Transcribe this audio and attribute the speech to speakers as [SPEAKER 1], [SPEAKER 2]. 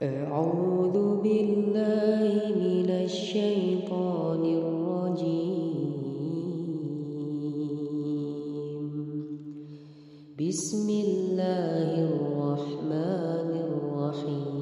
[SPEAKER 1] أعوذ بالله من الشيطان الرجيم بسم الله الرحمن الرحيم